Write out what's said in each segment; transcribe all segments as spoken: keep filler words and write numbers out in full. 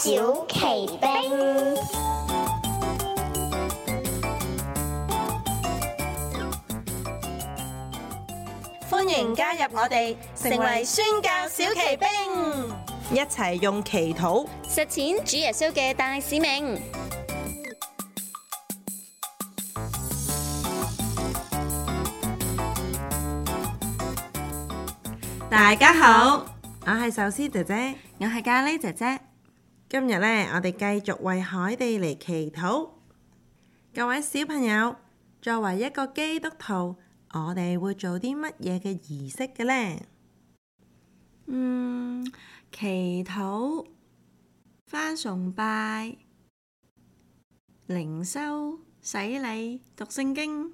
小奇兵， 歡迎加入我哋，成為宣教小奇兵，一齊用祈禱實踐主耶穌嘅大使命。 大家好，我係壽司姐姐， 我係咖喱姐姐。 今日呢，我哋繼續為海地嚟祈禱。各位小朋友，作為一個基督徒，我哋會做啲乜嘢嘅儀式嘅呢？ 嗯，祈禱、返崇拜、靈修、洗禮、讀聖經。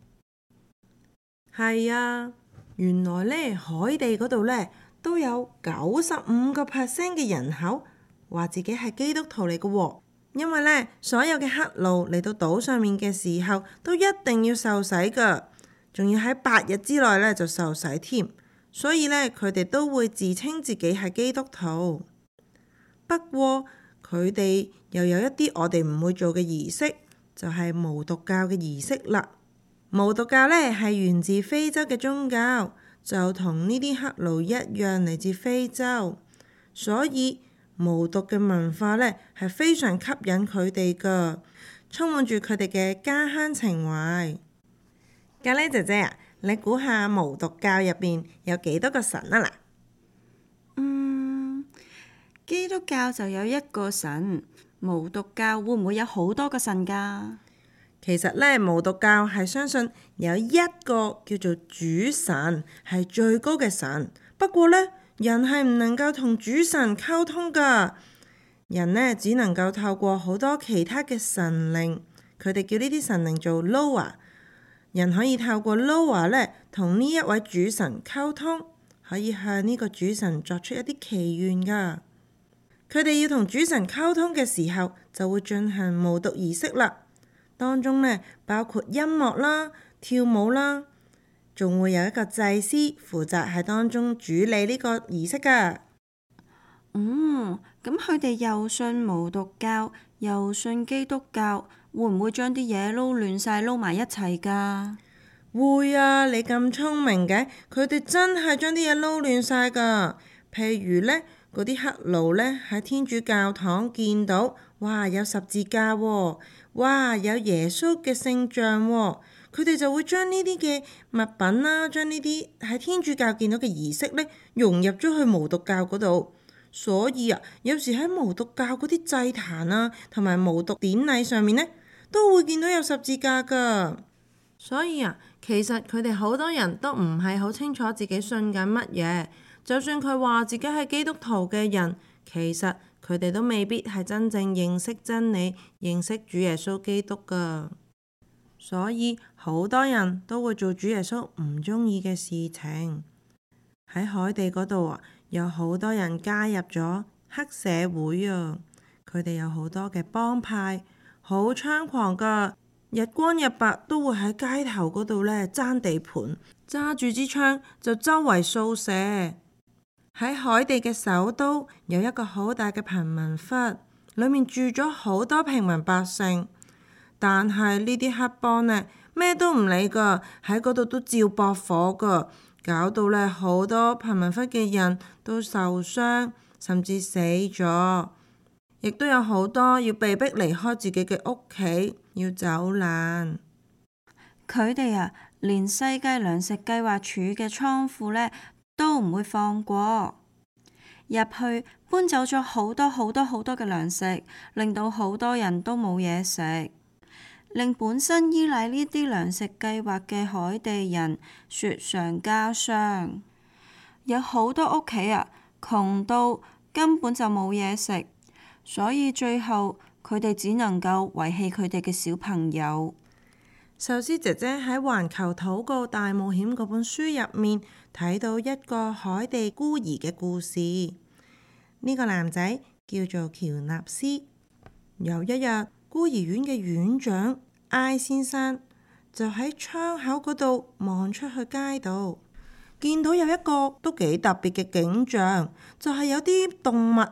係啊，原來呢，海地嗰度呢，都有九十五個 percent 嘅人口話自己係基督徒嚟嘅喎。因為呢，所有嘅黑奴嚟到島上面嘅時候，都一定要受洗㗎，仲要喺八日之內呢就受洗添。所以呢，佢哋都會自稱自己係基督徒。不過佢哋又有一啲我哋唔會做嘅儀式，就係無毒教嘅儀式啦。無毒教呢係源自非洲嘅宗教，就同呢啲黑奴一樣嚟自非洲，所以無毒嘅文化呢係非常吸引佢哋㗎，充滿住佢哋嘅家鄉情懷。咖喱姐姐啊，你估下無毒教入邊有幾多個神啊？嗱， 嗯，基督教就有一個神，無毒教會唔會有好多個神㗎？ 其實呢，無毒教係相信有一個叫做主神係最高嘅神。不過呢，人係唔能夠同主神溝通㗎。人呢，只能夠透過好多其他嘅神靈，佢哋叫呢啲神靈做 Loa。人可以透過 Loa 呢，同呢一位主神溝通，可以向呢個主神作出一啲祈願㗎。佢哋要同主神溝通嘅時候，就會進行無毒儀式啦。當中呢，包括音樂啦、跳舞啦，仲會有一個祭司負責喺當中主理呢個儀式㗎。 嗯，咁佢哋又信無毒教，又信基督教，會唔會將啲嘢撈亂晒，撈埋一齊㗎？ 會啊，你咁聰明嘅，佢哋真係將啲嘢撈亂晒㗎。譬如呢，嗰啲黑奴呢，喺天主教堂見到，哇，有十字架喎，哇，有耶穌嘅聖像喎，佢哋就會將呢啲嘅物品啦，將呢啲喺天主教見到嘅儀式呢，融入咗去無毒教嗰度。所以啊，有時喺無毒教嗰啲祭壇啊，同埋無毒典禮上面呢，都會見到有十字架㗎。所以啊，其實佢哋好多人都唔係好清楚自己信緊乜嘢。就算佢話自己係基督徒嘅人，其實佢哋都未必係真正認識真理、認識主耶穌基督㗎。所以好多人都會做主耶穌唔中意嘅事情。喺海地嗰度啊，有好多人加入咗黑社會啊！佢哋有好多嘅幫派，好猖狂㗎，日光日白都會喺街頭嗰度呢爭地盤，揸住支槍就周圍掃射。喺海地嘅首都有一個好大嘅貧民窟，裡面住咗好多平民百姓，但係呢啲黑幫呢，咩都唔理㗎，喺嗰度都照駁火㗎。搞到咧好多貧民窟嘅人都受傷，甚至死咗，亦都有好多要被逼離開自己嘅屋企，要走難。 佢哋啊，連世界糧食計劃署嘅倉庫呢都唔會放過，入去搬走咗好多好多好多嘅糧食，令到好多人都冇嘢食。令本身依賴呢啲糧食計劃嘅海地人雪上加霜，有好多屋企啊窮到根本就冇嘢食，所以最後佢哋只能夠遺棄佢哋嘅小朋友。 壽司姐姐喺《環球禱告大冒險》嗰本書入面睇到一個海地孤兒嘅故事。呢個男仔叫做喬納斯。有一日，孤兒院嘅院長艾先生就喺窗口嗰度望出去街度，見到有一個都幾特別嘅景象，就係有啲動物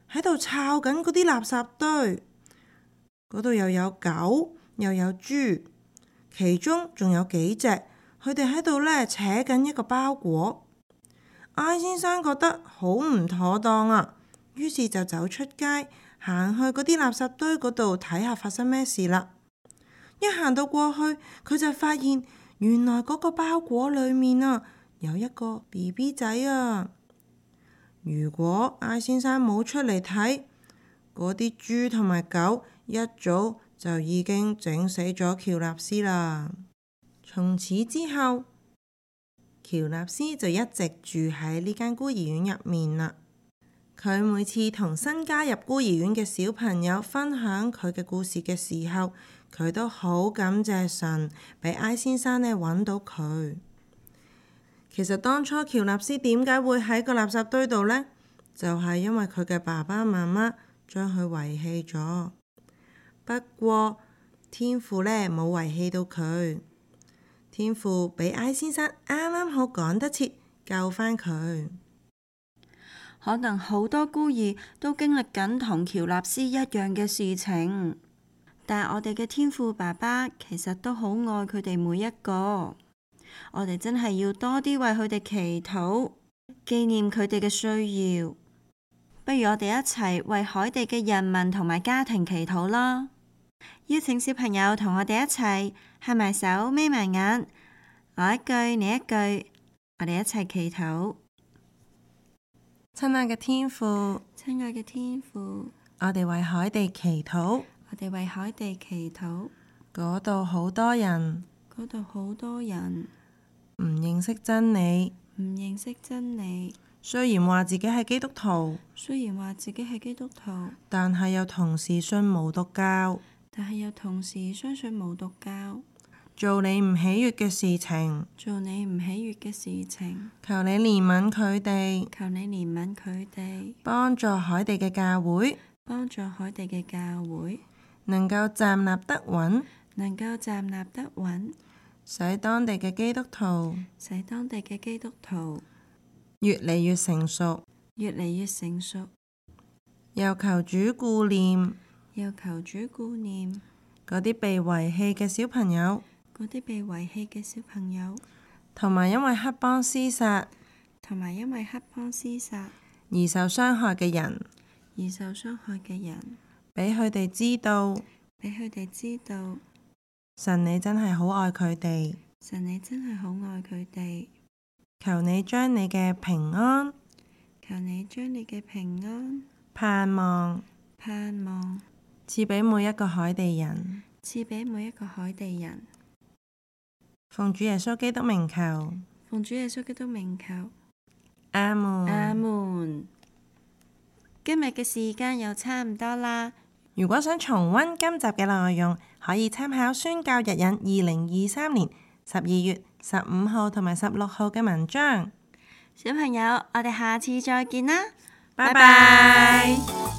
喺度抄緊嗰啲垃圾堆，嗰度又有狗又有豬，其中仲有幾隻，佢哋喺度呢扯緊一個包裹。I先生覺得好唔妥當啊，於是就走出街，行去嗰啲垃圾堆嗰度睇下發生咩事啦。一行到過去，佢就發現原來嗰個包裹裏面啊有一個 B B 仔啊。如果 I 先生冇出嚟睇，嗰啲豬同埋狗一早就已經整死咗喬納斯啦。從此之後，喬納斯就一直住喺呢間孤兒院入面啦。佢每次同新加入孤兒院嘅小朋友分享佢嘅故事嘅時候，佢都好感謝神俾 I 先生呢揾到佢。其實當初喬納斯點解會喺個垃圾堆度呢？就係因為佢嘅爸爸媽媽將佢遺棄咗。不過天父呢冇遺棄到佢，天父俾 I 先生啱啱好趕得切救返佢。 可能好多孤兒都經歷緊同喬納斯一樣嘅事情，但我哋嘅天父爸爸其實都好愛佢哋每一個。我哋真係要多啲為佢哋祈禱，紀念佢哋嘅需要。不如我哋一齊為海地嘅人民同埋家庭祈禱啦！邀請小朋友同我哋一齊合埋手，眯埋眼，我一句你一句，我哋一齊祈禱。 親愛嘅天父， 親愛嘅天父， 我哋為海地祈禱。 我哋為海地祈禱。 嗰度好多人， 嗰度好多人唔認識真理， 唔認識真理。 雖然話自己係基督徒， 雖然話自己係基督徒， 但係又同時信無毒教， 但係又同時相信無毒教。 做你唔喜悅嘅事情， 做你唔喜悅嘅事情。 求你憐憫佢哋， 求你憐憫佢哋， 幫助海地嘅教會， 幫助海地嘅教會能夠站立得穩， 能夠站立得穩， 使當地嘅基督徒， 使當地嘅基督徒越嚟越成熟， 越嚟越成熟。 又求主顧念， 又求主顧念嗰啲被遺棄嘅小朋友， 嗰啲被遺棄嘅小朋友， 同埋因為黑幫廝殺， 同埋因為黑幫廝殺而受傷害嘅人， 而受傷害嘅人， 俾佢哋知道， 俾佢哋知道， 神你真係好愛佢哋， 神你真係好愛佢哋。 求你將你嘅平安， 求你將你嘅平安盼望， 盼望賜俾每一個海地人， 賜俾每一個海地人。 奉主耶穌基督名求， 奉主耶穌基督名求， 阿門。 阿門。今日嘅時間又差唔多啦。 如果想重溫今集嘅內容，可以參考宣教日引二零二三年十二月十五號同埋十六號嘅文章。 小朋友，我哋下次再見啦， 拜拜。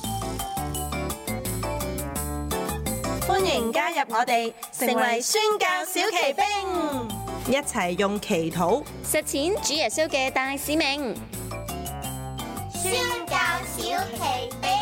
歡迎加入我哋，成為宣教小騎兵， 一齊用祈禱實踐主耶穌嘅大使命。宣教小騎兵。